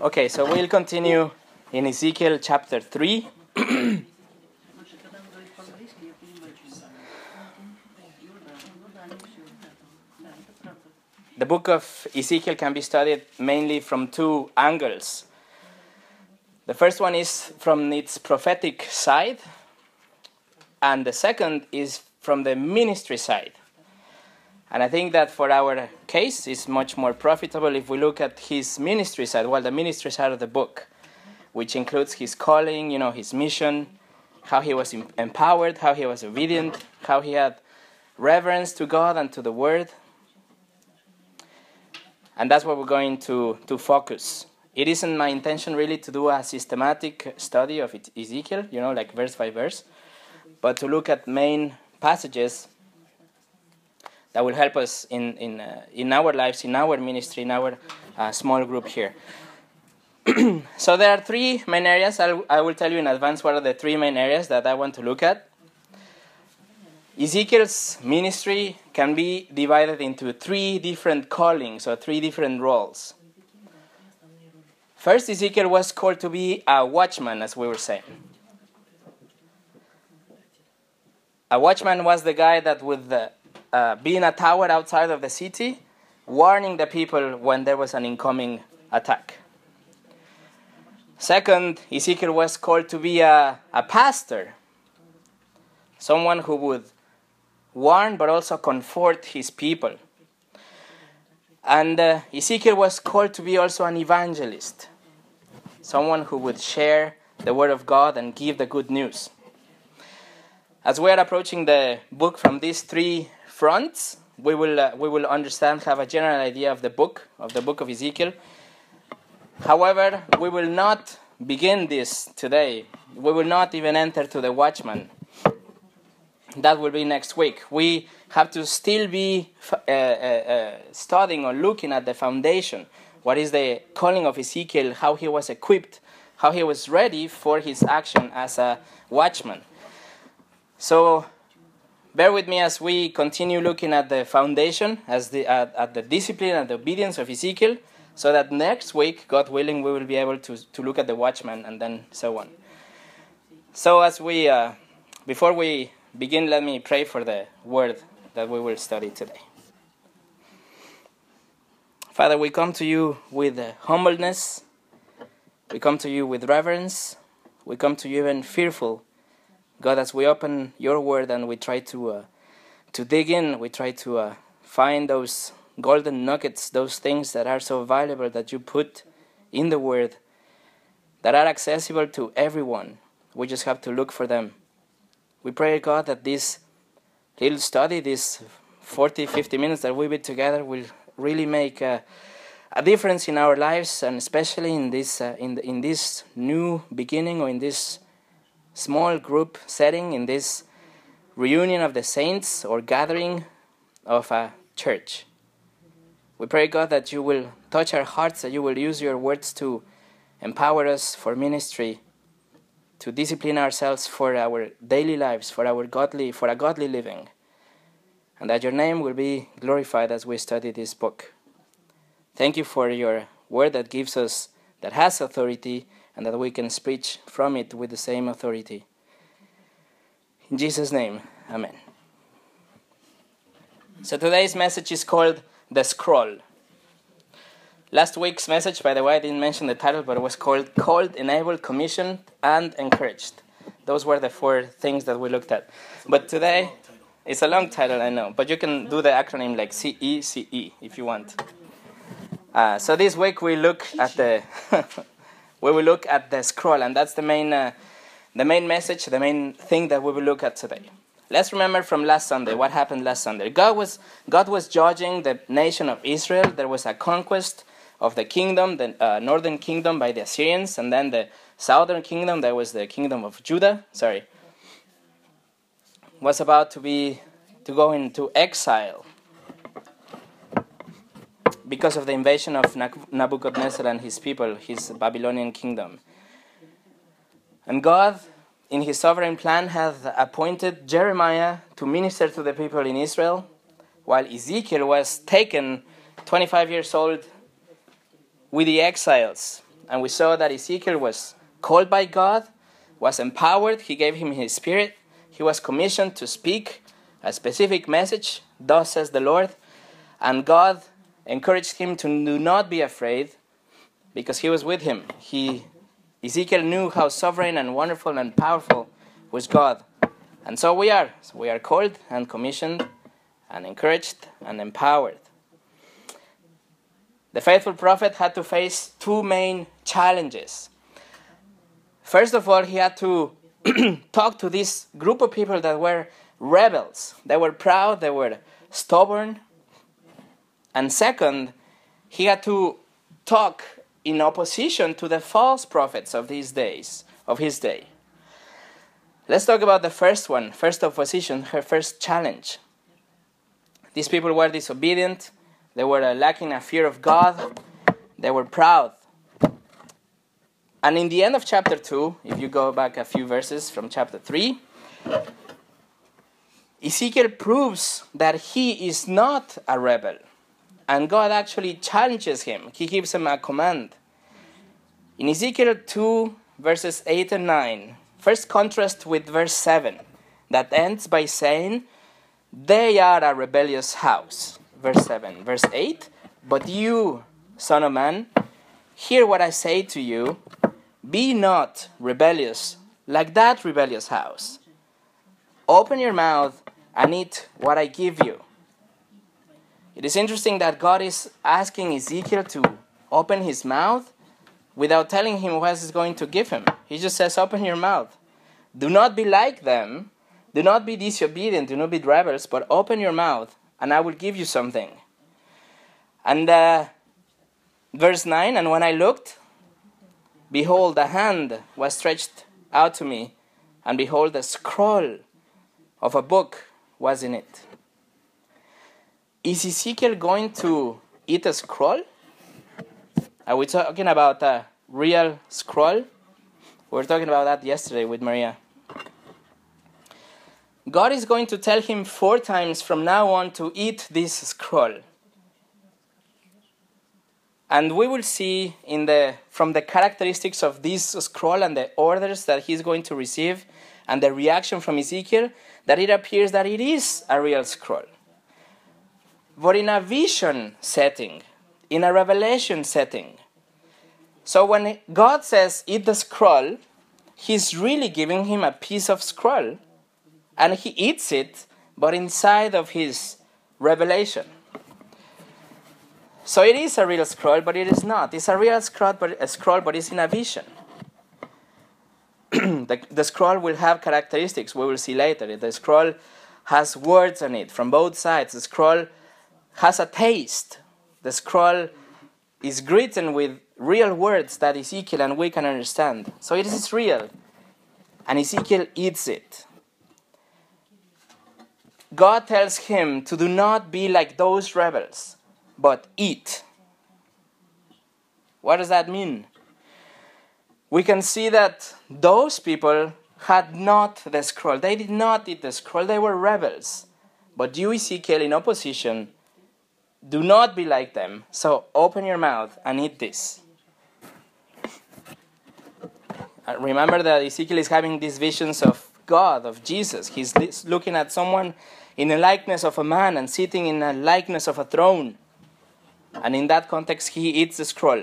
Okay, so we'll continue in Ezekiel chapter 3. The book of Ezekiel can be studied mainly from two angles. The first one is from its prophetic side, and the second is from the ministry side. And I think that for our case, it's much more profitable if we look at his ministry side, the ministry side of the book, which includes his calling, his mission, how he was empowered, how he was obedient, how he had reverence to God and to the Word. And that's what we're going to focus. It isn't my intention really to do a systematic study of Ezekiel, like verse by verse, but to look at main passages that will help us in our lives, in our ministry, in our small group here. So there are three main areas. I will tell you in advance what are the three main areas that I want to look at. Ezekiel's ministry can be divided into three different callings or three different roles. First, Ezekiel was called to be a watchman, as we were saying. A watchman was the guy that would be in a tower outside of the city, warning the people when there was an incoming attack. Second, Ezekiel was called to be a pastor, someone who would warn but also comfort his people. And Ezekiel was called to be also an evangelist, someone who would share the word of God and give the good news. As we are approaching the book from these three fronts, we will understand, have a general idea of the book of Ezekiel. However, we will not begin this today. We will not even enter to the watchman. That will be next week. We have to still be studying or looking at the foundation. What is the calling of Ezekiel, how he was equipped, how he was ready for his action as a watchman. So bear with me as we continue looking at the foundation, at the discipline and the obedience of Ezekiel, so that next week, God willing, we will be able to look at the watchman and then so on. So as we, before we begin, let me pray for the word that we will study today. Father, we come to you with humbleness. We come to you with reverence. We come to you even fearful. God, as we open your word and we try to dig in, we try to find those golden nuggets, those things that are so valuable that you put in the word, that are accessible to everyone. We just have to look for them. We pray, God, that this little study, this 40, 50 minutes that we be together will really make a difference in our lives, and especially in this in this new beginning, or in this small group setting, in this reunion of the saints or gathering of a church. We pray, God, that you will touch our hearts, that you will use your words to empower us for ministry, to discipline ourselves for our daily lives, for a godly living, and that your name will be glorified as we study this book. Thank you for your word that has authority, and that we can preach from it with the same authority. In Jesus' name, amen. So today's message is called The Scroll. Last week's message, by the way, I didn't mention the title, but it was called Enabled, Commissioned, and Encouraged. Those were the four things that we looked at. But today, it's a long title, I know, but you can do the acronym like CECE if you want. So this week we look at the we will look at the scroll, and that's the main message, the main thing that we will look at today. Let's remember from last Sunday what happened last Sunday. God was judging the nation of Israel. There was a conquest of the kingdom, the northern kingdom by the Assyrians, and then the southern kingdom, that was the kingdom of Judah, was about to go into exile because of the invasion of Nebuchadnezzar and his people, his Babylonian kingdom. And God, in his sovereign plan, had appointed Jeremiah to minister to the people in Israel, while Ezekiel was taken 25 years old with the exiles and we saw that Ezekiel was called by God, was empowered. He gave him his spirit. He was commissioned to speak a specific message, thus says the Lord. And God encouraged him to do not be afraid because he was with him. Ezekiel knew how sovereign and wonderful and powerful was God. And so we are. So we are called and commissioned and encouraged and empowered. The faithful prophet had to face two main challenges. First of all, he had to talk to this group of people that were rebels. They were proud, they were stubborn. And second, he had to talk in opposition to the false prophets of these days, of his day. Let's talk about the first one, first opposition, her first challenge. These people were disobedient. They were lacking a fear of God. They were proud. And in the end of chapter 2, if you go back a few verses from chapter 3, Ezekiel proves that he is not a rebel. And God actually challenges him. He gives him a command. In Ezekiel 2, verses 8 and 9, first contrast with verse 7, that ends by saying, they are a rebellious house. Verse 7. Verse 8, but you, son of man, hear what I say to you. Be not rebellious like that rebellious house. Open your mouth and eat what I give you. It is interesting that God is asking Ezekiel to open his mouth without telling him what he's going to give him. He just says, open your mouth. Do not be like them. Do not be disobedient. Do not be rebels, but open your mouth and I will give you something. And verse 9, and when I looked, behold, a hand was stretched out to me, and behold, a scroll of a book was in it. Is Ezekiel going to eat a scroll? Are we talking about a real scroll? We were talking about that yesterday with Maria. God is going to tell him 4 times from now on to eat this scroll. And we will see from the characteristics of this scroll and the orders that he's going to receive and the reaction from Ezekiel that it appears that it is a real scroll. But in a vision setting, in a revelation setting. So when God says, eat the scroll, he's really giving him a piece of scroll. And he eats it, but inside of his revelation. So it is a real scroll, but it is not. It's a real scroll, but it's in a vision. The scroll will have characteristics we will see later. The scroll has words on it from both sides. The scroll has a taste. The scroll is written with real words that Ezekiel and we can understand. So it is real. And Ezekiel eats it. God tells him to do not be like those rebels, but eat. What does that mean? We can see that those people had not the scroll. They did not eat the scroll. They were rebels. But you, Ezekiel, in opposition, do not be like them. So open your mouth and eat this. Remember that Ezekiel is having these visions of God, of Jesus. He's looking at someone in the likeness of a man and sitting in the likeness of a throne. And in that context, he eats the scroll.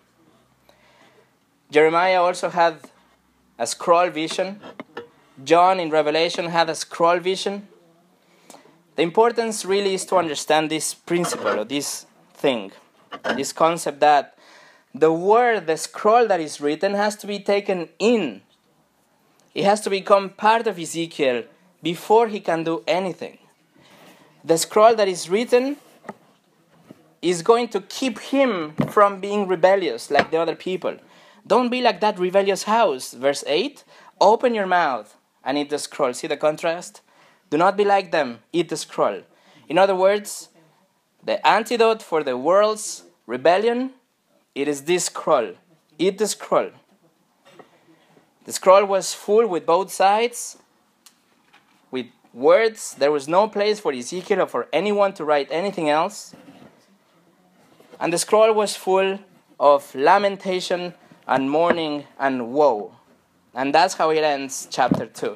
Jeremiah also had a scroll vision. John in Revelation had a scroll vision. The importance really is to understand this principle, or this thing, this concept that the scroll that is written has to be taken in. It has to become part of Ezekiel before he can do anything. The scroll that is written is going to keep him from being rebellious like the other people. Don't be like that rebellious house. Verse 8, open your mouth and eat the scroll. See the contrast? Do not be like them. Eat the scroll. In other words, the antidote for the world's rebellion, it is this scroll. Eat the scroll. The scroll was full with both sides, with words. There was no place for Ezekiel or for anyone to write anything else. And the scroll was full of lamentation, and mourning and woe. And that's how it ends chapter 2.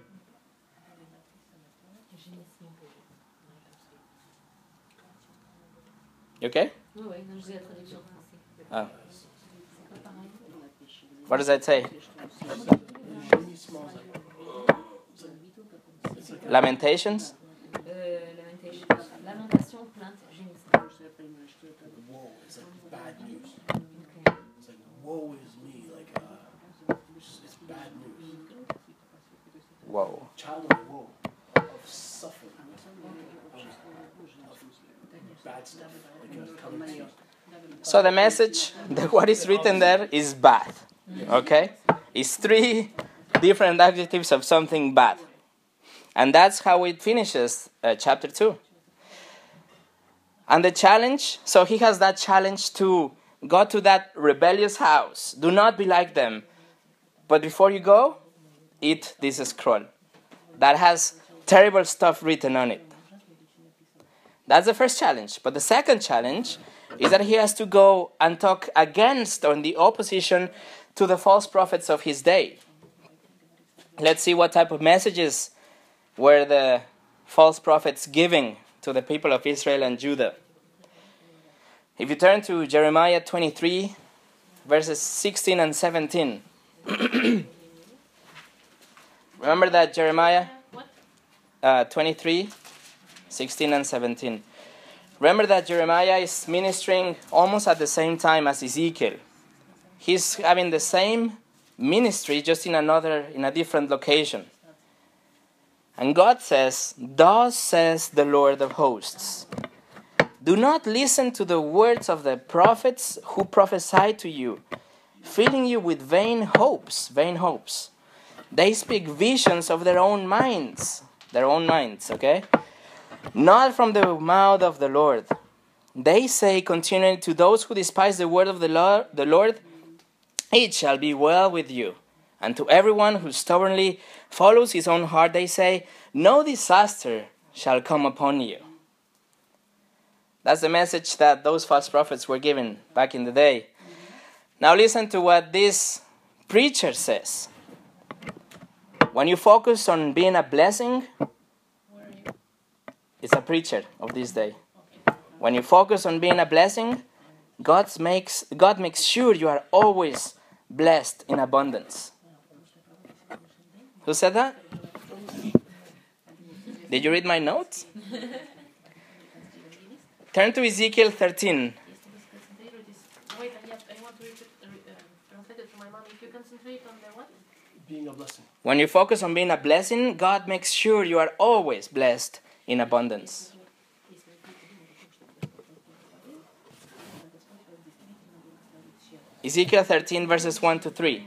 You okay? Oh. What does that say? Lamentations? Lamentation, plainte, gémissement. Woe is like bad news. It's like woe is me. Like it's bad news. Whoa. Child of woe, of suffering, of bad stuff. Like coming to you. So the message, what is written there is bad. Okay? It's 3 different adjectives of something bad. And that's how it finishes chapter 2. And the challenge, so he has that challenge to go to that rebellious house. Do not be like them. But before you go, eat this scroll that has terrible stuff written on it. That's the first challenge. But the second challenge is that he has to go and talk against or in the opposition to the false prophets of his day. Let's see what type of messages were the false prophets giving to the people of Israel and Judah. If you turn to Jeremiah 23, verses 16 and 17. Remember that Jeremiah 23, 16 and 17. Remember that Jeremiah is ministering almost at the same time as Ezekiel. He's having the same ministry, just in a different location. And God says, "Thus says the Lord of hosts, do not listen to the words of the prophets who prophesy to you, filling you with vain hopes. They speak visions of their own minds, okay? Not from the mouth of the Lord. They say continually to those who despise the word of the Lord, it shall be well with you. And to everyone who stubbornly follows his own heart, they say, no disaster shall come upon you." That's the message that those false prophets were given back in the day. Now listen to what this preacher says. When you focus on being a blessing, it's a preacher of this day. When you focus on being a blessing, God makes sure you are always blessed in abundance. Who said that? Did you read my notes? Turn to Ezekiel 13. Wait, I want to translate it to my mom. If you concentrate on the what? Being a blessing. When you focus on being a blessing, God makes sure you are always blessed in abundance. Ezekiel 13 verses 1 to 3.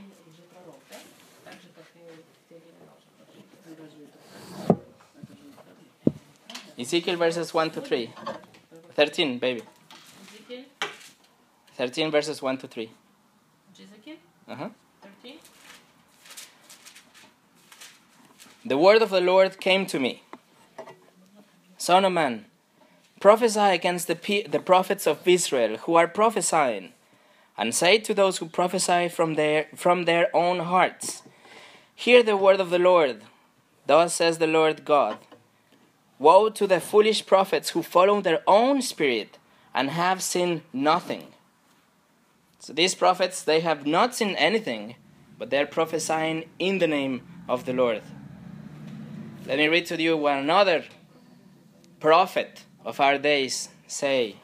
Ezekiel verses 1 to 3. 13, baby. Ezekiel? 13 verses 1 to 3. Ezekiel? 13? The word of the Lord came to me. Son of man, prophesy against the prophets of Israel who are prophesying, and say to those who prophesy from their own hearts, hear the word of the Lord. Thus says the Lord God, woe to the foolish prophets who follow their own spirit and have seen nothing. So these prophets, they have not seen anything, but they're prophesying in the name of the Lord. Let me read to you what another prophet of our days say.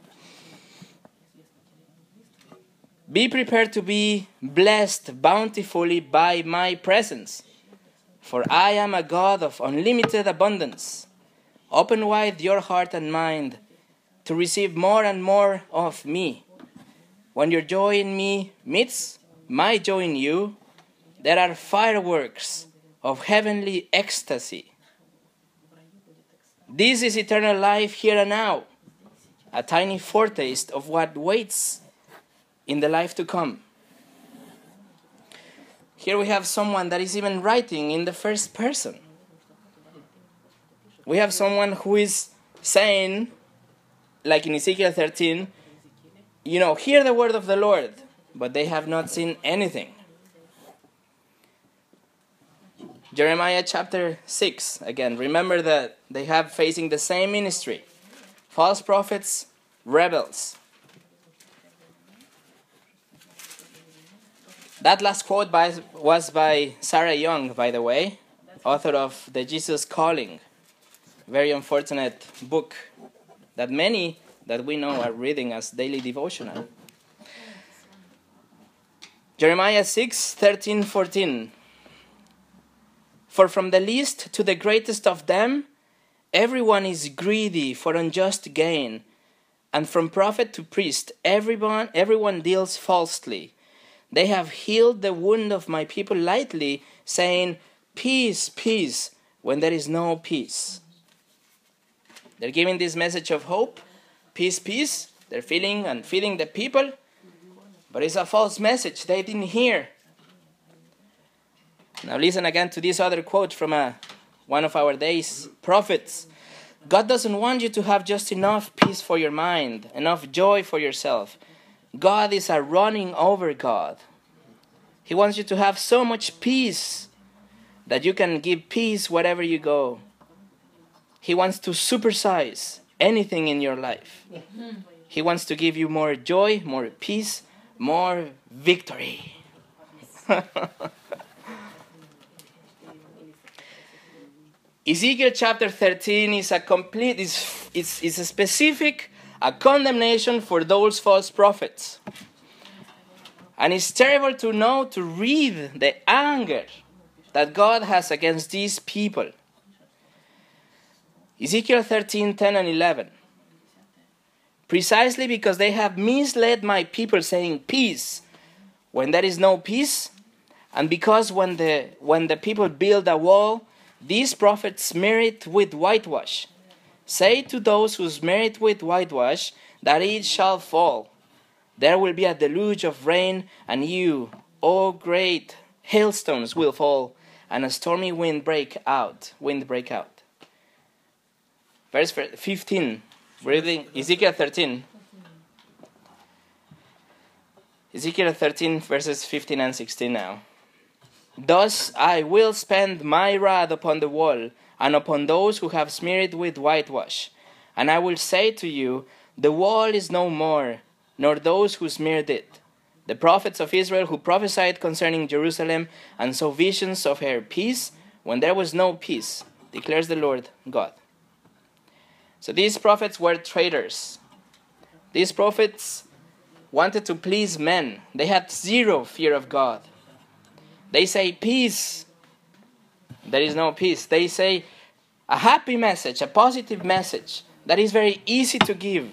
Be prepared to be blessed bountifully by my presence, for I am a God of unlimited abundance. Open wide your heart and mind to receive more and more of me. When your joy in me meets my joy in you, there are fireworks of heavenly ecstasy. This is eternal life here and now, a tiny foretaste of what waits in the life to come. Here we have someone that is even writing in the first person. We have someone who is saying, like in Ezekiel 13, hear the word of the Lord. but they have not seen anything. Jeremiah chapter 6, again, remember that they have facing the same ministry. False prophets, rebels. That last quote was by Sarah Young, by the way, author of The Jesus Calling. Very unfortunate book that many that we know are reading as daily devotional. Jeremiah 6, 13, 14. For from the least to the greatest of them, everyone is greedy for unjust gain, and from prophet to priest, everyone deals falsely. They have healed the wound of my people lightly, saying, peace, peace, when there is no peace. They're giving this message of hope, peace, peace. They're feeling and feeding the people, but it's a false message they didn't hear. Now listen again to this other quote from one of our day's prophets. God doesn't want you to have just enough peace for your mind, enough joy for yourself. God is a running over God. He wants you to have so much peace that you can give peace wherever you go. He wants to supersize anything in your life. He wants to give you more joy, more peace, more victory. Ezekiel chapter 13 is a specific condemnation for those false prophets. And it's terrible to read the anger that God has against these people. Ezekiel 13, 10 and 11. Precisely because they have misled my people, saying peace when there is no peace, and because when the people build a wall, these prophets smear it with whitewash. Say to those who smear it with whitewash that it shall fall. There will be a deluge of rain, and you, O great hailstones, will fall, and a stormy wind break out. Verse 15. Reading Ezekiel 13. Ezekiel 13 verses 15 and 16 now. Thus I will spend my wrath upon the wall, and upon those who have smeared it with whitewash. And I will say to you, the wall is no more, nor those who smeared it. The prophets of Israel who prophesied concerning Jerusalem, and saw visions of her peace, when there was no peace, declares the Lord God. So these prophets were traitors. These prophets wanted to please men. They had zero fear of God. They say peace. There is no peace. They say a happy message, a positive message that is very easy to give.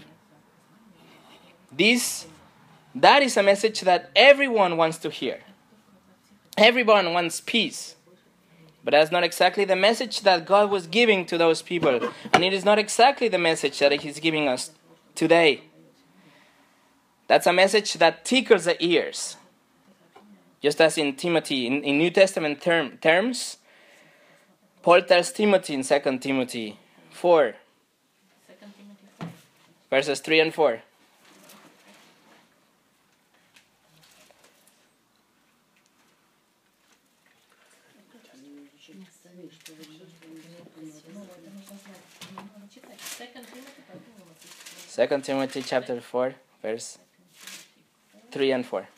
That is a message that everyone wants to hear. Everyone wants peace. But that's not exactly the message that God was giving to those people. And it is not exactly the message that He's giving us today. That's a message that tickles the ears. Just as in Timothy, in New Testament terms, Paul tells Timothy in 2 Timothy 4, verses 3 and 4. Second Timothy chapter 4, verse 3 and 4.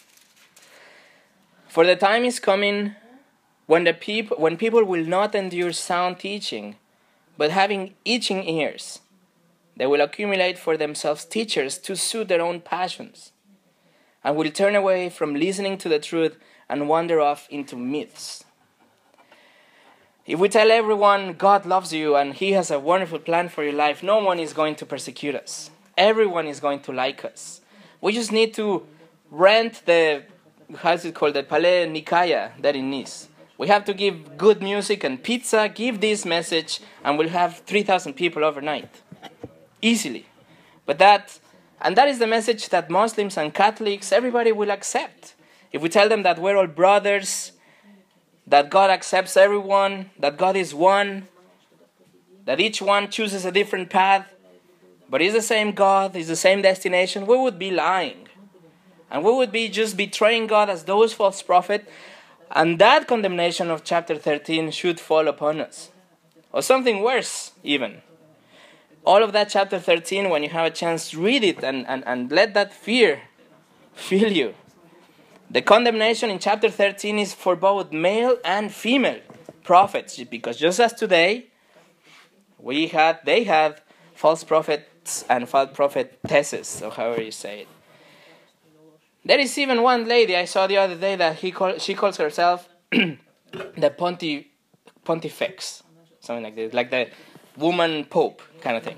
For the time is coming when people will not endure sound teaching, but having itching ears, they will accumulate for themselves teachers to suit their own passions, and will turn away from listening to the truth and wander off into myths. If we tell everyone God loves you and He has a wonderful plan for your life, no one is going to persecute us. Everyone is going to like us. We just need to rent the Palais Nikaya there in Nice. We have to give good music and pizza, give this message, and we'll have 3,000 people overnight. Easily. That is the message that Muslims and Catholics, everybody will accept. If we tell them that we're all brothers, that God accepts everyone, that God is one, that each one chooses a different path, but is the same God, is the same destination, we would be lying. And we would be just betraying God as those false prophets. And that condemnation of chapter 13 should fall upon us. Or something worse, even. All of that chapter 13, when you have a chance, read it and let that fear fill you. The condemnation in chapter 13 is for both male and female prophets. Because just as today, they had false prophets and false prophetesses, or however you say it. There is even one lady I saw the other day that she calls herself the Pontifex, something like this, like the woman pope kind of thing.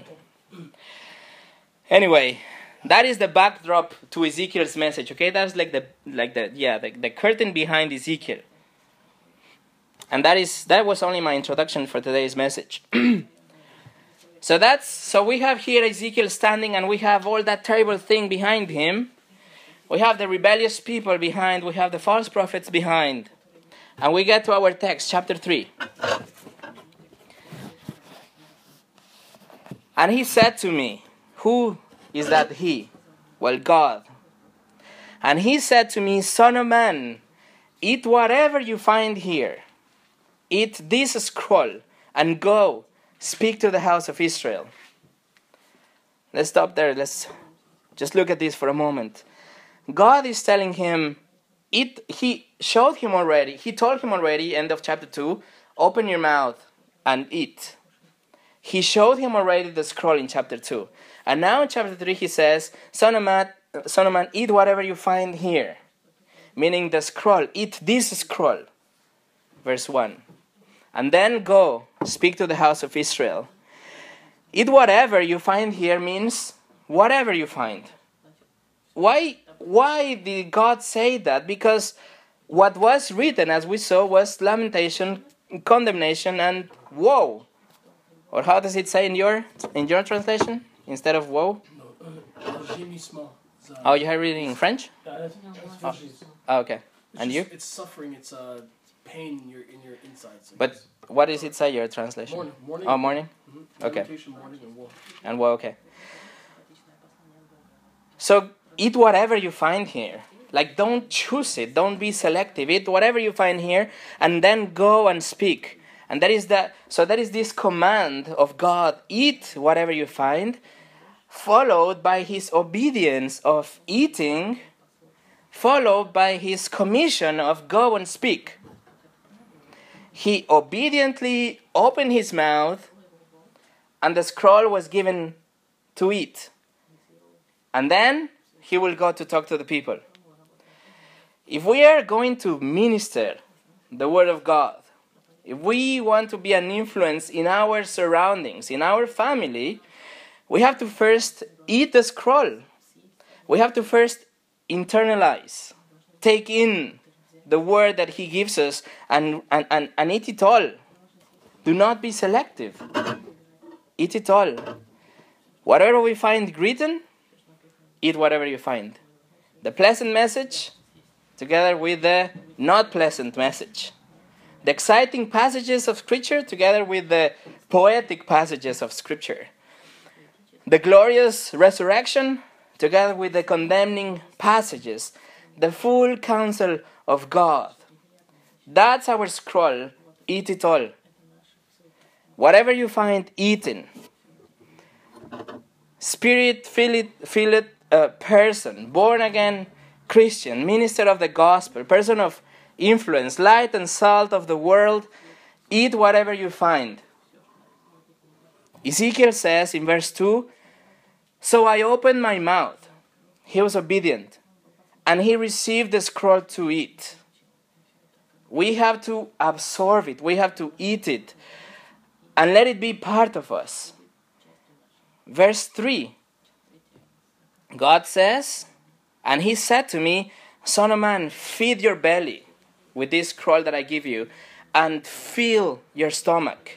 Anyway, that is the backdrop to Ezekiel's message. Okay, that's like the curtain behind Ezekiel, and that was only my introduction for today's message. So we have here Ezekiel standing, and we have all that terrible thing behind him. We have the rebellious people behind. We have the false prophets behind. And we get to our text, chapter 3. And he said to me, who is that he? Well, God. And he said to me, Son of man, eat whatever you find here. Eat this scroll and go speak to the house of Israel. Let's stop there. Let's just look at this for a moment. God is telling him, he told him already, end of chapter 2, open your mouth and eat. He showed him already the scroll in chapter 2. And now in chapter 3 he says, Son of man, eat whatever you find here. Meaning the scroll, eat this scroll. Verse 1. And then go, speak to the house of Israel. Eat whatever you find here means whatever you find. Why did God say that? Because what was written, as we saw, was lamentation, condemnation, and woe. Or how does it say in your translation? Instead of woe? Oh, you have reading in French? Oh, okay. And you? It's suffering, it's pain in your insides. But what does it say, your translation? Morning. Oh, morning? Mm-hmm. Okay. Morning and woe. And woe, okay. So, eat whatever you find here. Like, don't choose it. Don't be selective. Eat whatever you find here, and then go and speak. And that is this command of God, eat whatever you find, followed by his obedience of eating, followed by his commission of go and speak. He obediently opened his mouth, and the scroll was given to eat. And then he will go to talk to the people. If we are going to minister the word of God, if we want to be an influence in our surroundings, in our family, we have to first eat the scroll. We have to first internalize, take in the word that he gives us and eat it all. Do not be selective. Eat it all. Whatever we find written, eat whatever you find. The pleasant message together with the not pleasant message. The exciting passages of Scripture together with the poetic passages of Scripture. The glorious resurrection together with the condemning passages. The full counsel of God. That's our scroll. Eat it all. Whatever you find eaten. Spirit-filled person, born again Christian, minister of the gospel, person of influence, light and salt of the world, eat whatever you find. Ezekiel says in verse 2, so I opened my mouth. He was obedient, and he received the scroll to eat. We have to absorb it. We have to eat it and let it be part of us. Verse 3, God says, and he said to me, Son of man, feed your belly with this scroll that I give you, and fill your stomach.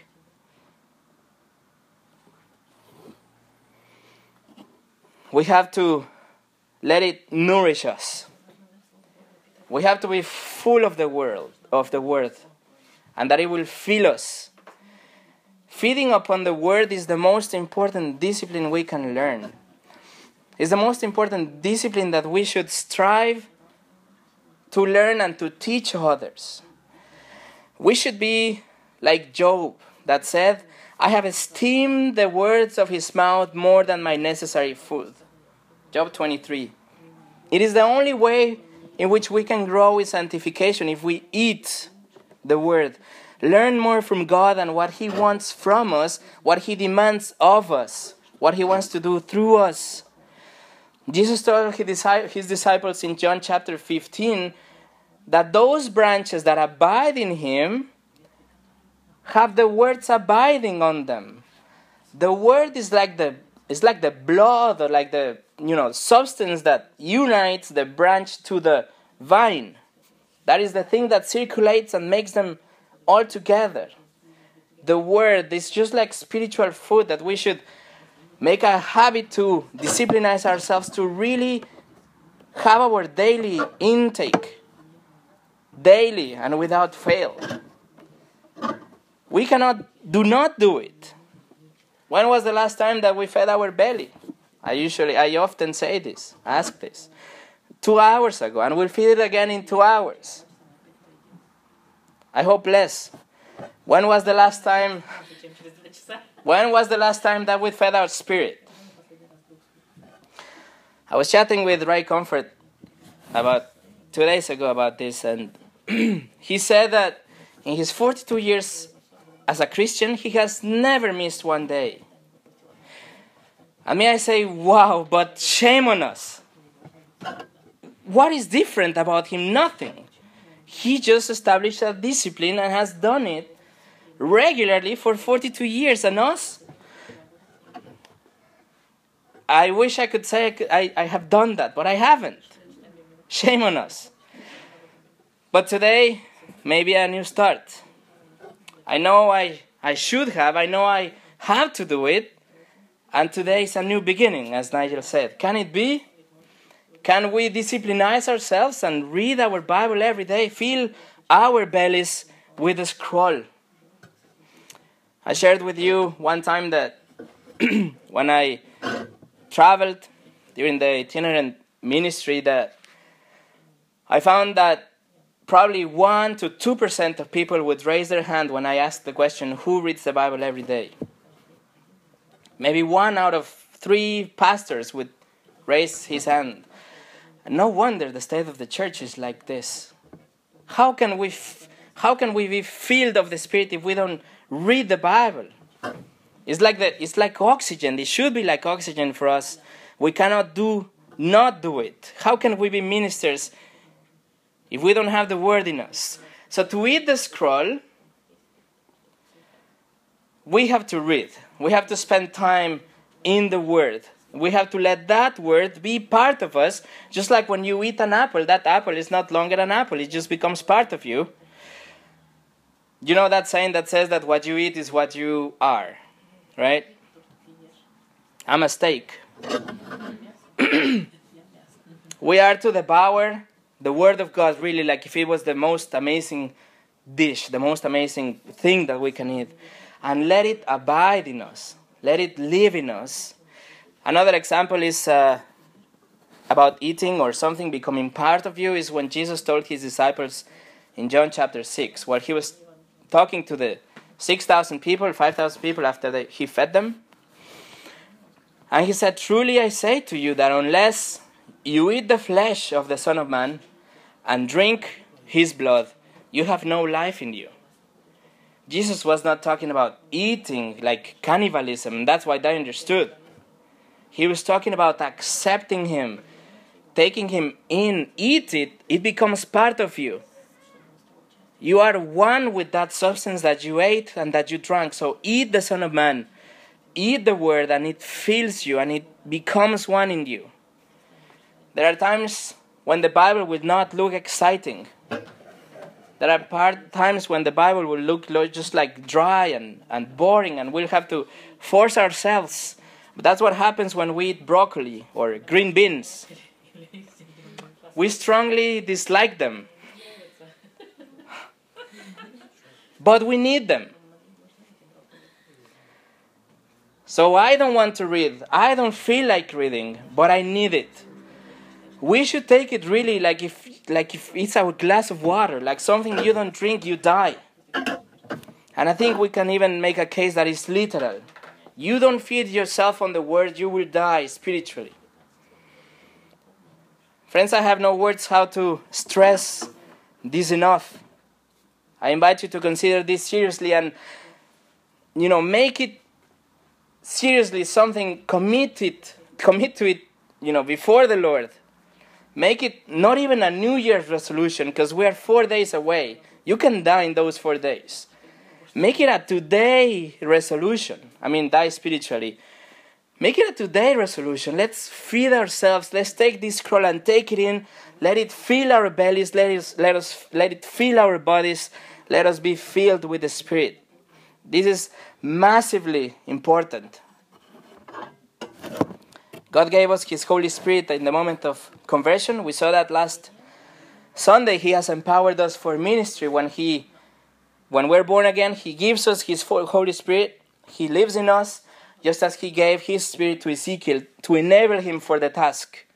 We have to let it nourish us. We have to be full of the word, and that it will fill us. Feeding upon the word is the most important discipline we can learn. It's the most important discipline that we should strive to learn and to teach others. We should be like Job that said, I have esteemed the words of his mouth more than my necessary food. Job 23. It is the only way in which we can grow in sanctification if we eat the word. Learn more from God and what he wants from us, what he demands of us, what he wants to do through us. Jesus told his disciples in John chapter 15 that those branches that abide in him have the words abiding on them. The word is like the blood, or like the substance that unites the branch to the vine. That is the thing that circulates and makes them all together. The word is just like spiritual food that we should make a habit to discipline ourselves to really have our daily intake. Daily and without fail. We do not do it. When was the last time that we fed our belly? I often say this, ask this. 2 hours ago, and we'll feed it again in 2 hours. I hope less. When was the last time that we fed our spirit? I was chatting with Ray Comfort about 2 days ago about this, and he said that in his 42 years as a Christian, he has never missed one day. And may I say, wow, but shame on us. What is different about him? Nothing. He just established a discipline and has done it regularly for 42 years. And us? I wish I could say I have done that, but I haven't. Shame on us. But today, maybe a new start. I know I should have. I know I have to do it. And today is a new beginning, as Nigel said. Can it be? Can we disciplinize ourselves and read our Bible every day? Fill our bellies with a scroll. I shared with you one time that when I traveled during the itinerant ministry, that I found that probably 1 to 2% of people would raise their hand when I asked the question, who reads the Bible every day? Maybe 1 out of 3 pastors would raise his hand. And no wonder the state of the church is like this. How can we be filled of the Spirit if we don't read the Bible? It's like oxygen. It should be like oxygen for us. We cannot not do it. How can we be ministers if we don't have the word in us? So to eat the scroll, we have to read. We have to spend time in the word. We have to let that word be part of us. Just like when you eat an apple, that apple is not longer an apple. It just becomes part of you. You know that saying that says that what you eat is what you are, right? I'm a steak. We are to devour the word of God really like if it was the most amazing dish, the most amazing thing that we can eat. And let it abide in us. Let it live in us. Another example is about eating or something becoming part of you is when Jesus told his disciples in John chapter 6, where he was talking to the 6,000 people, 5,000 people after he fed them. And he said, truly I say to you that unless you eat the flesh of the Son of Man and drink his blood, you have no life in you. Jesus was not talking about eating like cannibalism. That's why they understood. He was talking about accepting him, taking him in, eat it. It becomes part of you. You are one with that substance that you ate and that you drank. So eat the Son of Man. Eat the word and it fills you and it becomes one in you. There are times when the Bible will not look exciting. There are times when the Bible will look just like dry and boring and we'll have to force ourselves. But that's what happens when we eat broccoli or green beans. We strongly dislike them. But we need them. So I don't want to read. I don't feel like reading, but I need it. We should take it really like if it's a glass of water, like something you don't drink, you die. And I think we can even make a case that is literal. You don't feed yourself on the word, you will die spiritually. Friends, I have no words how to stress this enough. I invite you to consider this seriously and, make it seriously something, commit to it, before the Lord. Make it not even a New Year's resolution, because we are 4 days away. You can die in those 4 days. Make it a today resolution. Die spiritually. Make it a today resolution. Let's feed ourselves. Let's take this scroll and take it in. Let it fill our bellies. Let it fill our bodies. Let us be filled with the Spirit. This is massively important. God gave us His Holy Spirit in the moment of conversion. We saw that last Sunday. He has empowered us for ministry. When we're born again, He gives us His Holy Spirit. He lives in us, just as He gave His Spirit to Ezekiel to enable him for the task.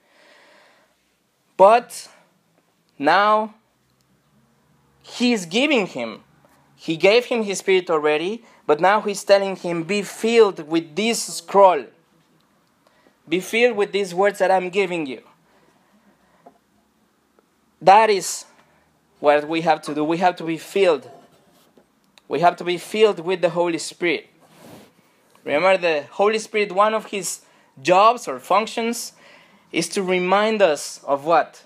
But now He is giving him. He gave him His Spirit already, but now He's telling him, be filled with this scroll. Be filled with these words that I'm giving you. That is what we have to do. We have to be filled. We have to be filled with the Holy Spirit. Remember, the Holy Spirit, one of His jobs or functions is to remind us of what?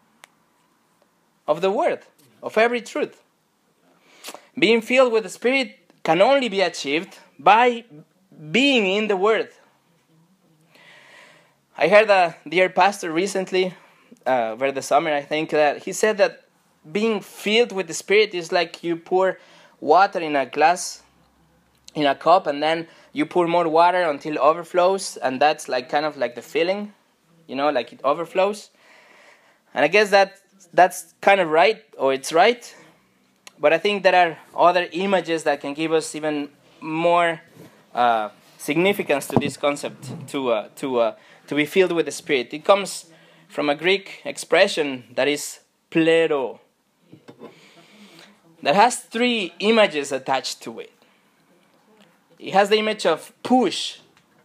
Of the Word, of every truth. Being filled with the Spirit can only be achieved by being in the Word. I heard a dear pastor recently, over the summer, I think, that he said that being filled with the Spirit is like you pour water in a glass, in a cup, and then you pour more water until it overflows, and that's like kind of like the filling, like it overflows. And I guess that's kind of right, or it's right. But I think there are other images that can give us even more significance to this concept, to be filled with the Spirit. It comes from a Greek expression that is plero, that has 3 images attached to it. It has the image of push.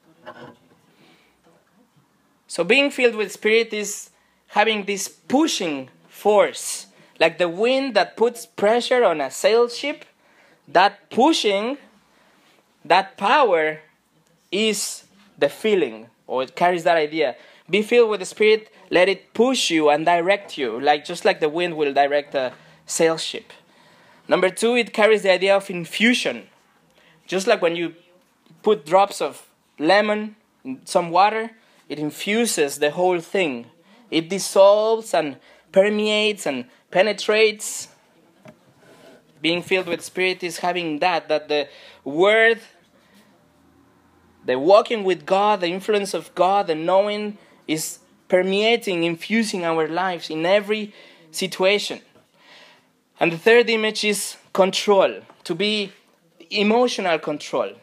So being filled with Spirit is having this pushing force, like the wind that puts pressure on a sail ship. That pushing, that power is the feeling, or it carries that idea. Be filled with the Spirit, let it push you and direct you, just like the wind will direct a sail ship. Number 2, it carries the idea of infusion. Just like when you put drops of lemon in some water, it infuses the whole thing. It dissolves and permeates and penetrates. Being filled with Spirit is having that the Word, the walking with God, the influence of God, the knowing is permeating, infusing our lives in every situation. And the 3rd image is control, to be emotional control.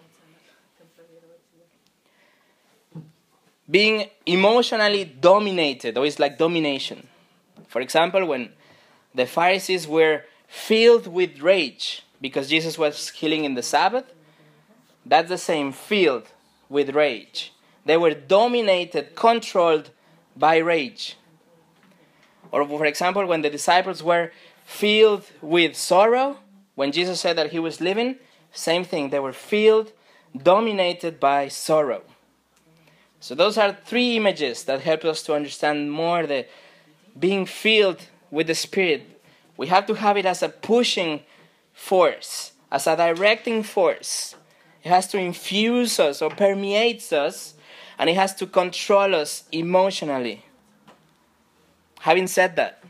Being emotionally dominated, or it's like domination. For example, when the Pharisees were filled with rage because Jesus was healing in the Sabbath, that's the same, filled with rage. They were dominated, controlled by rage. Or for example, when the disciples were filled with sorrow, when Jesus said that He was leaving, same thing, they were filled, dominated by sorrow. So those are 3 images that help us to understand more the being filled with the Spirit. We have to have it as a pushing force, as a directing force. It has to infuse us or permeates us, and it has to control us emotionally. Having said that,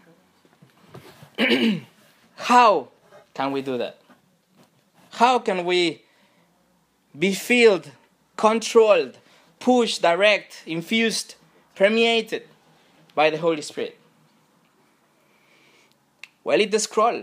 how can we do that? How can we be filled, controlled, pushed, direct, infused, permeated by the Holy Spirit? Well, it's the scroll.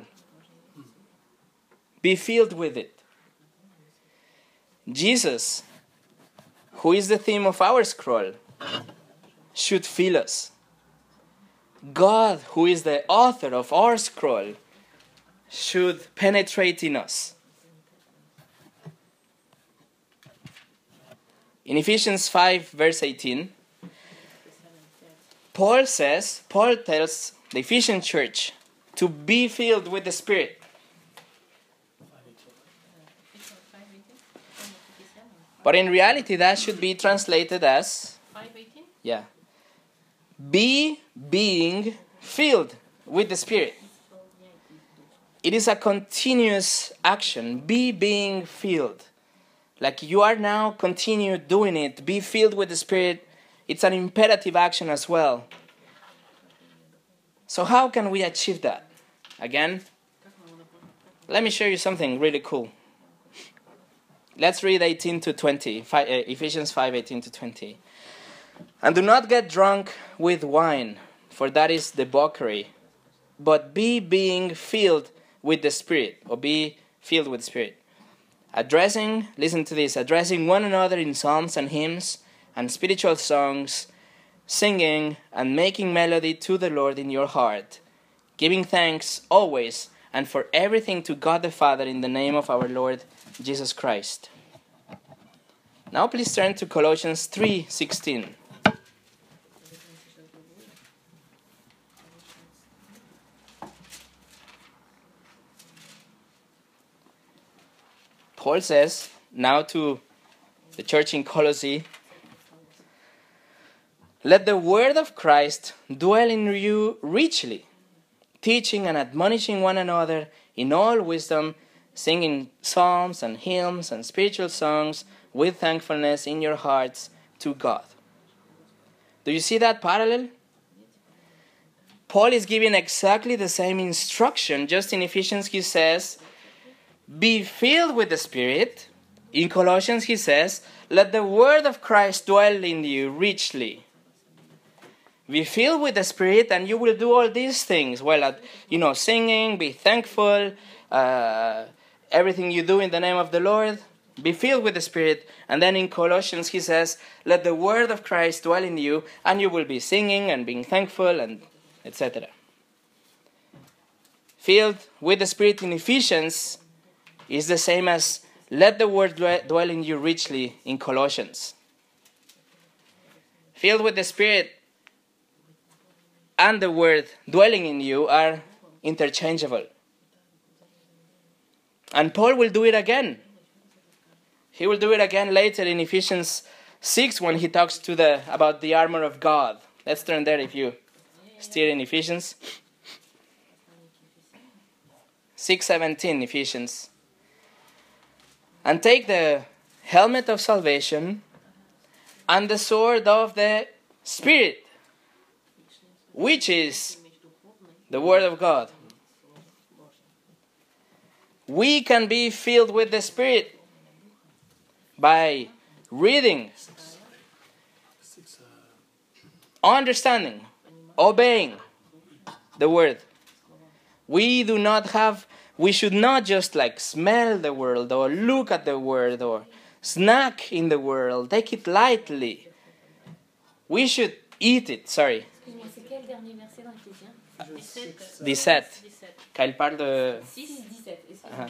Be filled with it. Jesus who is the theme of our scroll, should fill us. God, who is the author of our scroll, should penetrate in us. In Ephesians 5, verse 18, Paul tells the Ephesian church to be filled with the Spirit. But in reality, that should be translated as, 5:18? be being filled with the Spirit. It is a continuous action. Be being filled. Like you are now, continue doing it. Be filled with the Spirit. It's an imperative action as well. So how can we achieve that? Again, let me show you something really cool. Let's read 18 to 20, Ephesians 5, 18 to 20. And do not get drunk with wine, for that is debauchery, but be being filled with the Spirit, or be filled with the Spirit. Listen to this, addressing one another in psalms and hymns and spiritual songs, singing and making melody to the Lord in your heart, giving thanks always and for everything to God the Father in the name of our Lord Jesus Christ. Now please turn to Colossians 3:16. Paul says now to the church in Colossae, let the word of Christ dwell in you richly, teaching and admonishing one another in all wisdom, singing psalms and hymns and spiritual songs with thankfulness in your hearts to God. Do you see that parallel? Paul is giving exactly the same instruction. Just in Ephesians he says, be filled with the Spirit. In Colossians he says, let the word of Christ dwell in you richly. Be filled with the Spirit and you will do all these things. Well, singing, be thankful, everything you do in the name of the Lord. Be filled with the Spirit. And then in Colossians he says, let the word of Christ dwell in you and you will be singing and being thankful and etc. Filled with the Spirit in Ephesians is the same as let the word dwell in you richly in Colossians. Filled with the Spirit and the word dwelling in you are interchangeable. And Paul will do it again. He will do it again later in Ephesians 6 when he talks about the armor of God. Let's turn there if you still in Ephesians. 6:17 Ephesians. And take the helmet of salvation and the sword of the Spirit, which is the Word of God. We can be filled with the Spirit by reading, understanding, obeying the Word. We should not just smell the Word or look at the Word or snack in the Word, take it lightly. We should eat it, sorry. Excuse-moi, c'est quel dernier verset dans Éphésiens? 17. Quand il parle de... 6, 17, excusez-moi.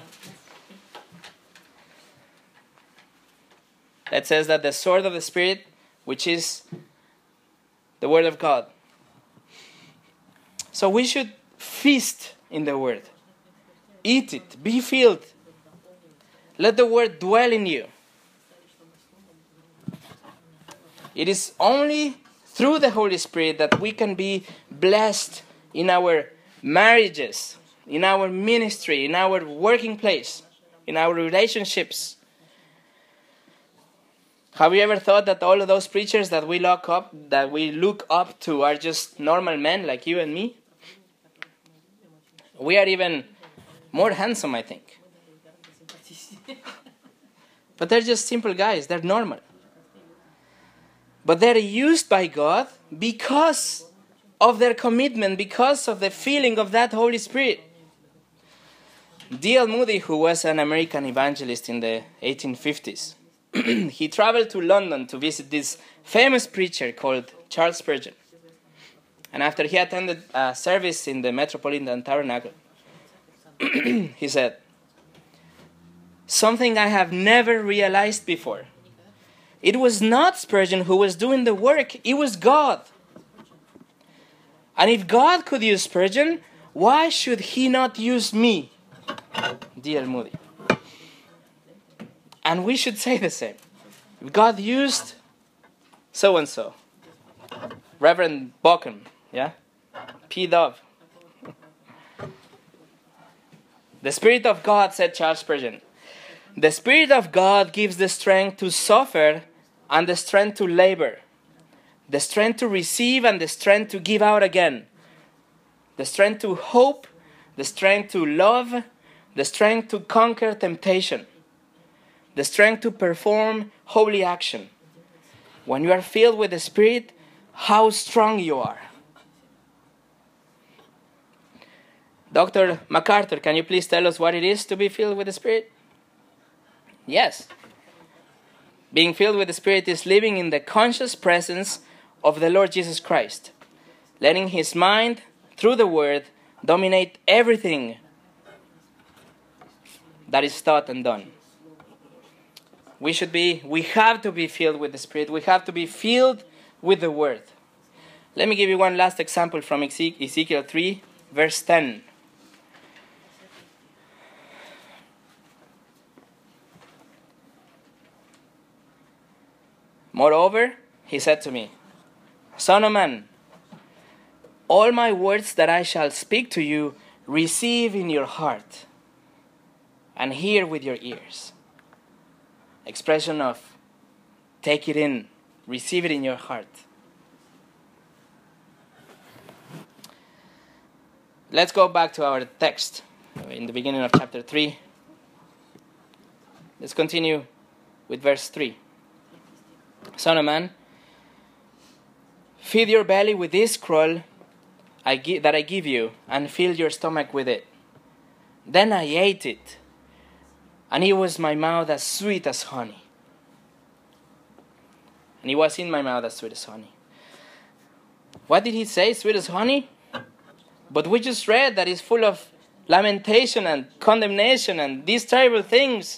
It says that the sword of the Spirit, which is the Word of God. So we should feast in the Word. Eat it. Be filled. Let the Word dwell in you. It is only through the Holy Spirit that we can be blessed in our marriages, in our ministry, in our working place, in our relationships. Have you ever thought that all of those preachers that we look up to are just normal men like you and me? We are even more handsome, I think. But they're just simple guys. They're normal. But they're used by God because of their commitment, because of the feeling of that Holy Spirit. D.L. Moody, who was an American evangelist in the 1850s, he traveled to London to visit this famous preacher called Charles Spurgeon. And after he attended a service in the Metropolitan Tabernacle, he said, "Something I have never realized before. It was not Spurgeon who was doing the work, it was God. And if God could use Spurgeon, why should he not use me, D.L. Moody?" And we should say the same. If God used so-and-so, Reverend Bockham, yeah? P. Dove. The Spirit of God, said Charles Spurgeon, the Spirit of God gives the strength to suffer and the strength to labor, the strength to receive and the strength to give out again, the strength to hope, the strength to love, the strength to conquer temptation, the strength to perform holy action. When you are filled with the Spirit, how strong you are. Dr. MacArthur, can you please tell us what it is to be filled with the Spirit? Yes. Being filled with the Spirit is living in the conscious presence of the Lord Jesus Christ, letting His mind, through the Word, dominate everything that is thought and done. We have to be filled with the Spirit. We have to be filled with the Word. Let me give you one last example from Ezekiel 3, verse 10. Moreover, he said to me, "Son of man, all my words that I shall speak to you, receive in your heart and hear with your ears." Expression of take it in, receive it in your heart. Let's go back to our text in the beginning of chapter 3. Let's continue with verse 3. "Son of man, feed your belly with this scroll that I give you, and fill your stomach with it. Then I ate it, and it was my mouth as sweet as honey." And it was in my mouth as sweet as honey. What did he say, sweet as honey? But we just read that it's full of lamentation and condemnation and these terrible things.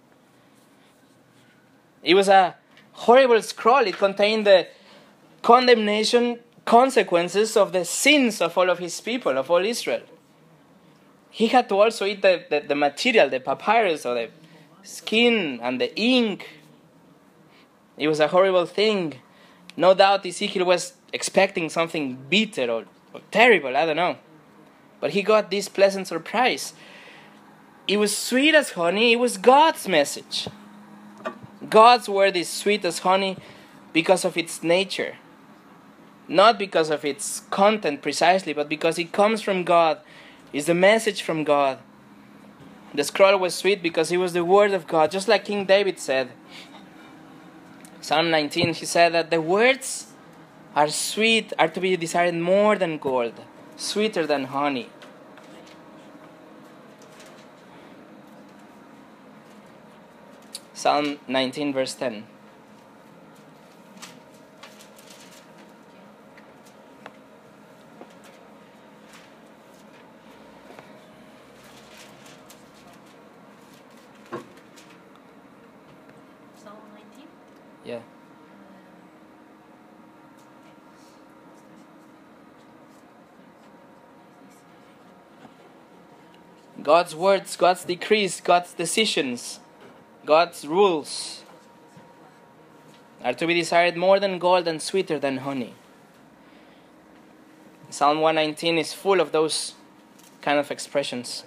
It was a horrible scroll. It contained the condemnation consequences of the sins of all of his people, of all Israel. He had to also eat the material, the papyrus, or the skin and the ink. It was a horrible thing. No doubt Ezekiel was expecting something bitter or terrible, I don't know. But he got this pleasant surprise. It was sweet as honey. It was God's message. God's word is sweet as honey because of its nature. Not because of its content precisely, but because it comes from God. It's the message from God. The scroll was sweet because it was the word of God, just like King David said. Psalm 19, he said that the words are sweet, are to be desired more than gold, sweeter than honey. Psalm 19, verse 10. Psalm 19? Yeah. God's words, God's decrees, God's decisions, God's rules are to be desired more than gold and sweeter than honey. Psalm 119 is full of those kind of expressions.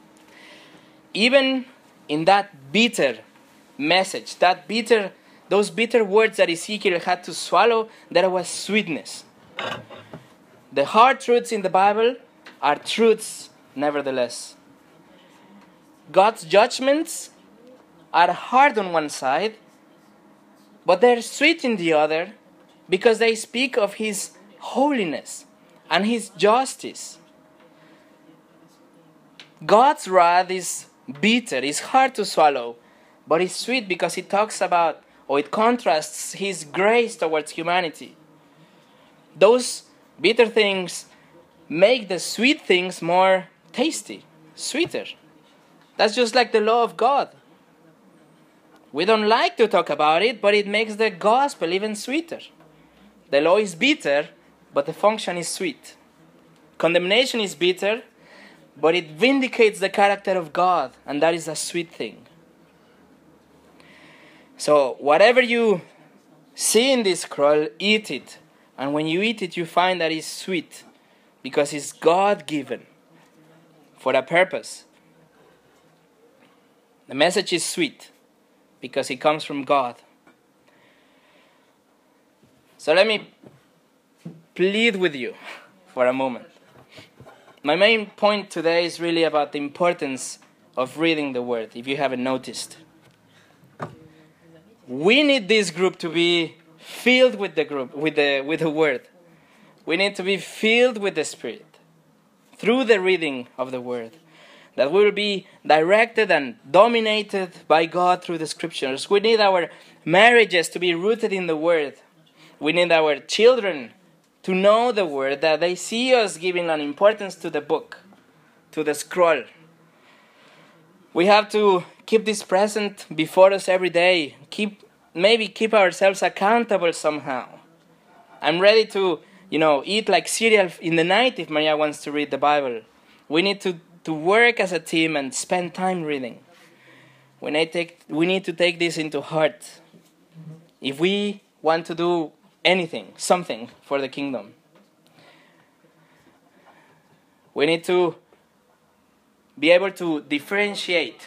Even in that bitter message, those bitter words that Ezekiel had to swallow, there was sweetness. The hard truths in the Bible are truths nevertheless. God's judgments are hard on one side, but they're sweet in the other because they speak of His holiness and His justice. God's wrath is bitter, is hard to swallow, but it's sweet because it talks about, or it contrasts His grace towards humanity. Those bitter things make the sweet things more tasty, sweeter. That's just like the law of God. We don't like to talk about it, but it makes the gospel even sweeter. The law is bitter, but the function is sweet. Condemnation is bitter, but it vindicates the character of God, and that is a sweet thing. So, whatever you see in this scroll, eat it. And when you eat it, you find that it's sweet, because it's God-given for a purpose. The message is sweet, because it comes from God. So let me plead with you for a moment. My main point today is really about the importance of reading the Word, if you haven't noticed. We need this group to be filled with the Word. We need to be filled with the Spirit through the reading of the Word. That we will be directed and dominated by God through the Scriptures. We need our marriages to be rooted in the Word. We need our children to know the Word, that they see us giving an importance to the book, to the scroll. We have to keep this present before us every day. Maybe keep ourselves accountable somehow. I'm ready to, eat like cereal in the night if Maria wants to read the Bible. We need to work as a team and spend time reading. We need to take this into heart if we want to do something for the kingdom. We need to be able to differentiate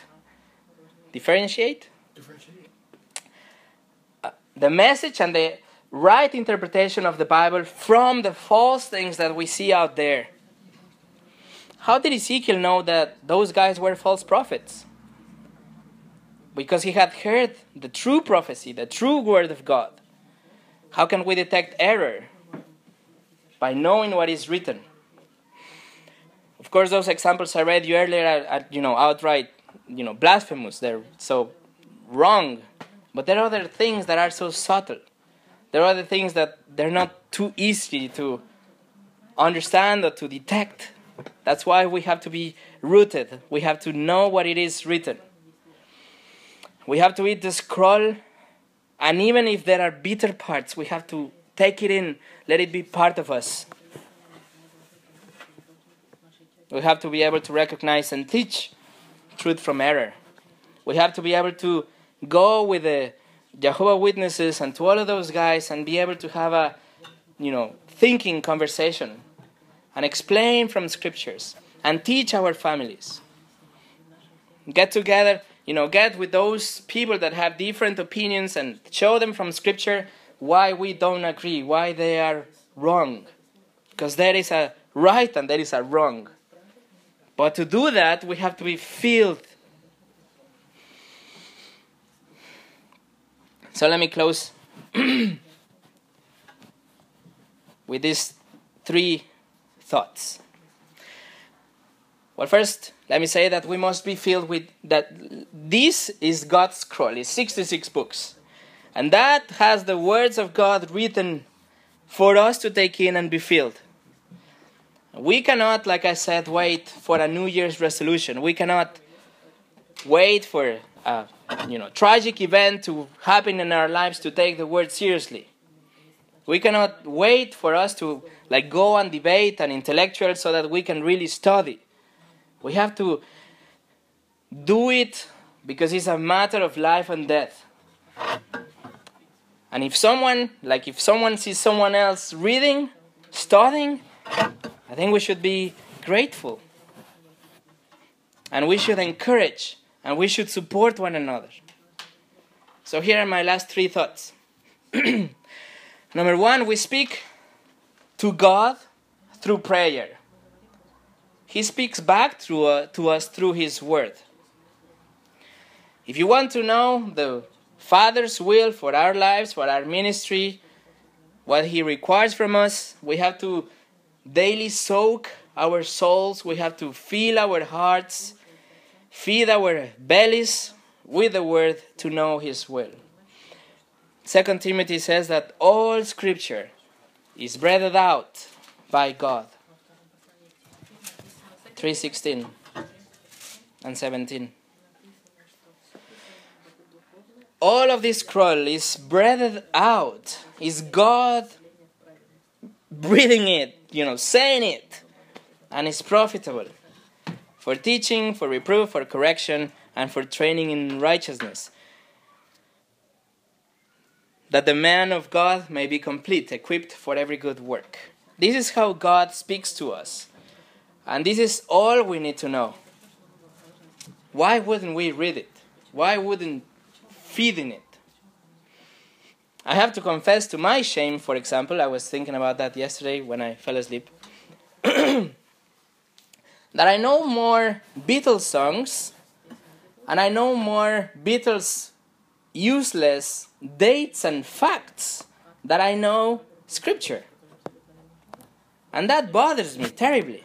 the message and the right interpretation of the Bible from the false things that we see out there. How did Ezekiel know that those guys were false prophets? Because he had heard the true prophecy, the true word of God. How can we detect error? By knowing what is written. Of course, those examples I read you earlier are outright, blasphemous. They're so wrong. But there are other things that are so subtle. There are other things that they're not too easy to understand or to detect. That's why we have to be rooted. We have to know what it is written. We have to eat the scroll. And even if there are bitter parts, we have to take it in. Let it be part of us. We have to be able to recognize and teach truth from error. We have to be able to go with the Jehovah's Witnesses and to all of those guys and be able to have a, thinking conversation and explain from scriptures and teach our families. Get together, get with those people that have different opinions and show them from scripture why we don't agree, why they are wrong. Because there is a right and there is a wrong. But to do that, we have to be filled. So let me close with these 3 thoughts. Well, first, let me say that we must be filled with that. This is God's scroll. It's 66 books. And that has the words of God written for us to take in and be filled. We cannot, like I said, wait for a New Year's resolution. We cannot wait for a tragic event to happen in our lives to take the word seriously. We cannot wait for us to go and debate and intellectual so that we can really study. We have to do it because it's a matter of life and death. And if someone sees someone else reading, studying, I think we should be grateful. And we should encourage and we should support one another. So here are my last 3 thoughts. Number 1, we speak to God through prayer. He speaks back to us through His Word. If you want to know the Father's will for our lives, for our ministry, what He requires from us, we have to daily soak our souls. We have to fill our hearts, feed our bellies with the word to know his will. 2 Timothy says that all scripture is breathed out by God. 3:16 and 17. All of this scroll is breathed out, is God breathing it, saying it, and is profitable for teaching, for reproof, for correction, and for training in righteousness, that the man of God may be complete, equipped for every good work. This is how God speaks to us. And this is all we need to know. Why wouldn't we read it? Why wouldn't feed in it? I have to confess to my shame, for example, I was thinking about that yesterday when I fell asleep, that I know more Beatles songs and I know more Beatles useless dates and facts than I know scripture. And that bothers me terribly.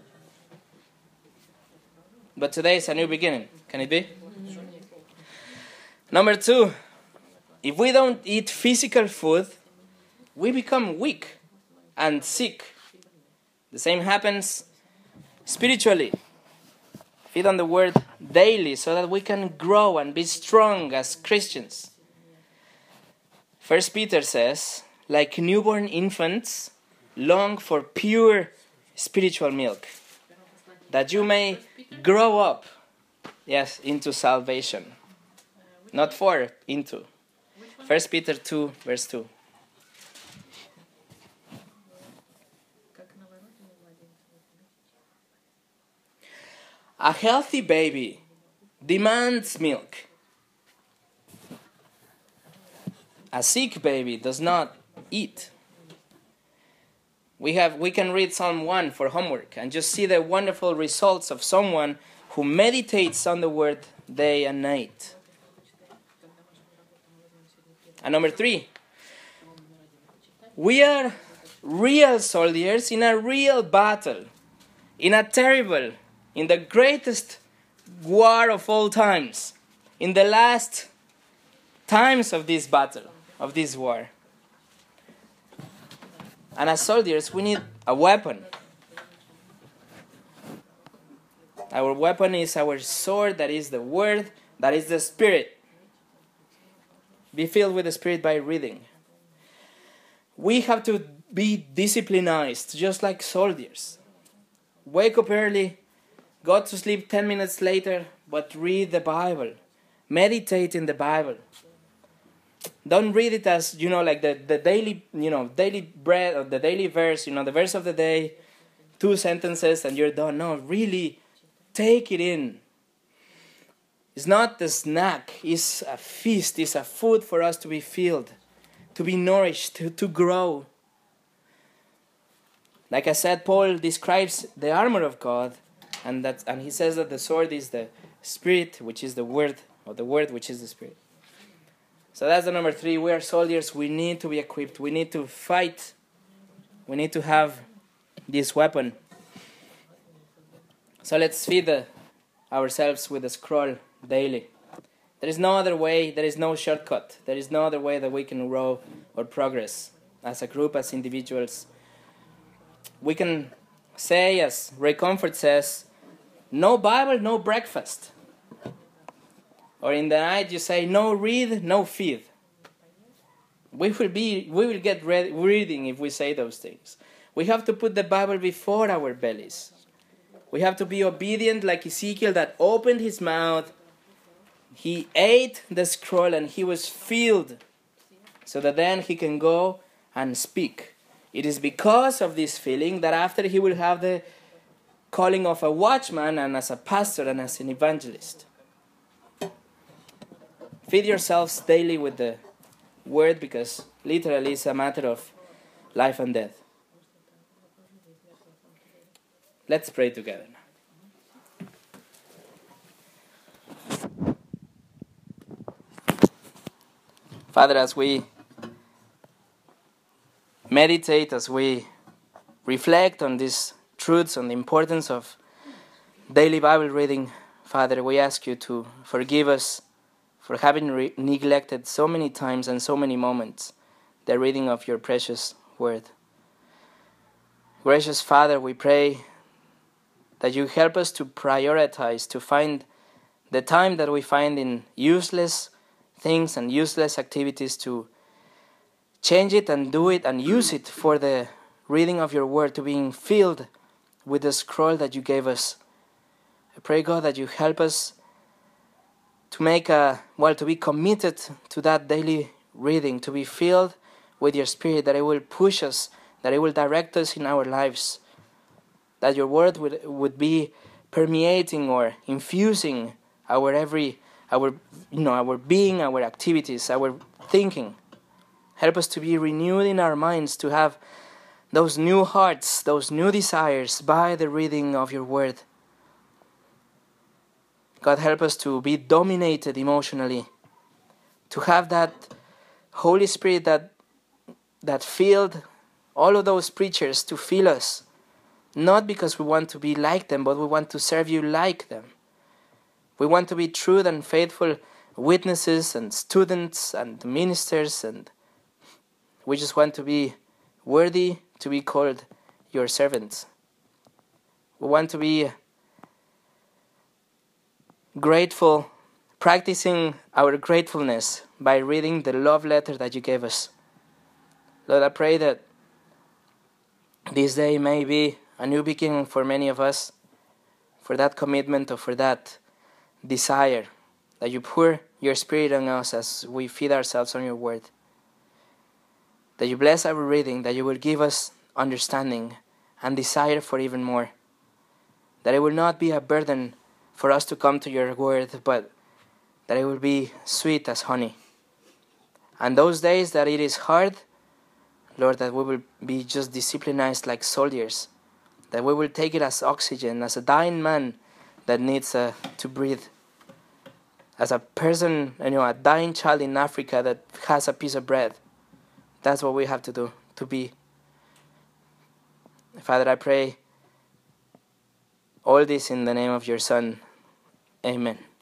But today is a new beginning. Can it be? Number 2, if we don't eat physical food, we become weak and sick. The same happens spiritually. Feed on the word daily so that we can grow and be strong as Christians. 1 Peter says, like newborn infants, long for pure spiritual milk, that you may grow up, into salvation. Not for, into. 1 Peter 2, verse 2. A healthy baby demands milk. A sick baby does not eat. We can read Psalm 1 for homework and just see the wonderful results of someone who meditates on the word day and night. And number 3, we are real soldiers in a real battle, in the greatest war of all times, in the last times of this battle, of this war. And as soldiers, we need a weapon. Our weapon is our sword, that is the word, that is the Spirit. Be filled with the Spirit by reading. We have to be disciplined, just like soldiers. Wake up early, go to sleep 10 minutes later, but read the Bible. Meditate in the Bible. Don't read it as, like the daily, daily bread or the daily verse, the verse of the day, 2 sentences and you're done. No, really take it in. It's not the snack, it's a feast, it's a food for us to be filled, to be nourished, to grow. Like I said, Paul describes the armor of God, and he says that the sword is the Spirit, which is the word, or the word, which is the Spirit. So that's the number 3. We are soldiers. We need to be equipped. We need to fight. We need to have this weapon. So let's feed ourselves with the scroll daily. There is no other way. There is no shortcut. There is no other way that we can grow or progress as a group, as individuals. We can say, as Ray Comfort says, no Bible, no breakfast. Or in the night you say, no read, no feed. We will get reading if we say those things. We have to put the Bible before our bellies. We have to be obedient like Ezekiel that opened his mouth. He ate the scroll and he was filled so that then he can go and speak. It is because of this feeling that after he will have the calling of a watchman and as a pastor and as an evangelist. Feed yourselves daily with the word because literally it's a matter of life and death. Let's pray together now. Father, as we meditate, as we reflect on these truths, on the importance of daily Bible reading, Father, we ask you to forgive us for having neglected so many times and so many moments the reading of your precious word. Gracious Father, we pray that you help us to prioritize, to find the time that we find in useless things and useless activities, to change it and do it and use it for the reading of your word, to being filled with the scroll that you gave us. I pray, God, that you help us to to be committed to that daily reading, to be filled with your Spirit, that it will push us, that it will direct us in our lives, that your word would be permeating or infusing our being, our activities, our thinking. Help us to be renewed in our minds, to have those new hearts, those new desires by the reading of your word. God, help us to be dominated emotionally, to have that Holy Spirit that filled all of those preachers, to fill us, not because we want to be like them, but we want to serve you like them. We want to be true and faithful witnesses and students and ministers, and we just want to be worthy to be called your servants. We want to be grateful, practicing our gratefulness by reading the love letter that you gave us. Lord, I pray that this day may be a new beginning for many of us, for that commitment or for that desire, that you pour your Spirit on us as we feed ourselves on your word. That you bless our reading, that you will give us understanding and desire for even more. That it will not be a burden for us to come to your word, but that it will be sweet as honey. And those days that it is hard, Lord, that we will be just disciplined like soldiers, that we will take it as oxygen, as a dying man that needs to breathe, as a person, a dying child in Africa that has a piece of bread. That's what we have to do, to be. Father, I pray all this in the name of your Son. Amen.